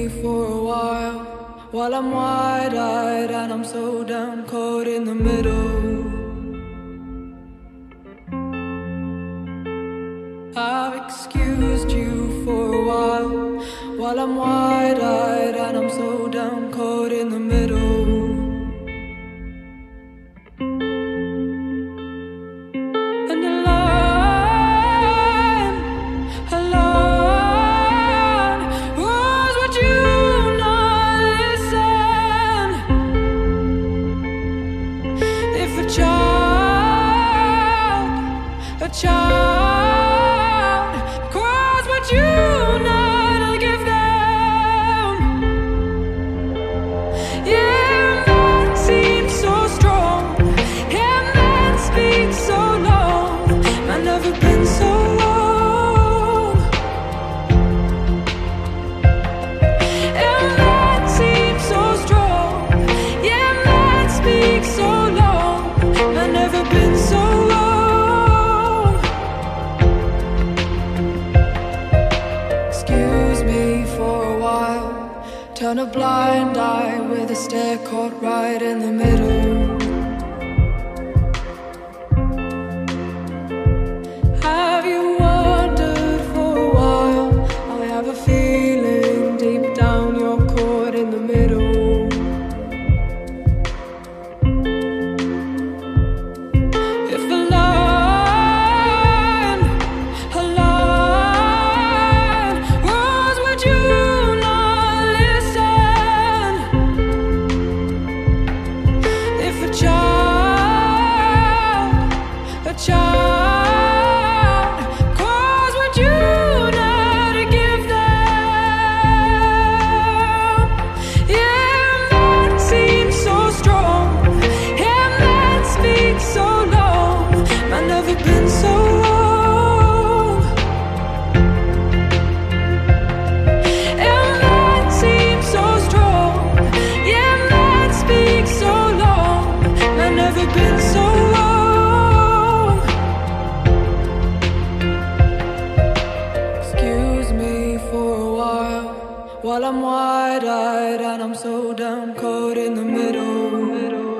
for a while I'm wide-eyed and I'm so down, caught in the middle. I've excused you for a while I'm wide-eyed and I'm so down, caught in the middle. And a line was what you not listen. If a child cries what you not give them. Yeah, man seems so strong, yeah, man speaks so long, I've never been so long. Yeah, man seems so strong, yeah, man speaks so long, I've never been so long. Turn a blind eye with a stare caught right in the middle. Have you wondered for a while? I have a feeling deep down you're caught in the middle. If a line was what you child cause what you not to give them. Yeah, man seems so strong, yeah, man speaks so long, I've never been so long. Yeah, man seems so strong, yeah, man speaks so long, I've never been so long. While I'm wide-eyed and I'm so down, caught in the middle.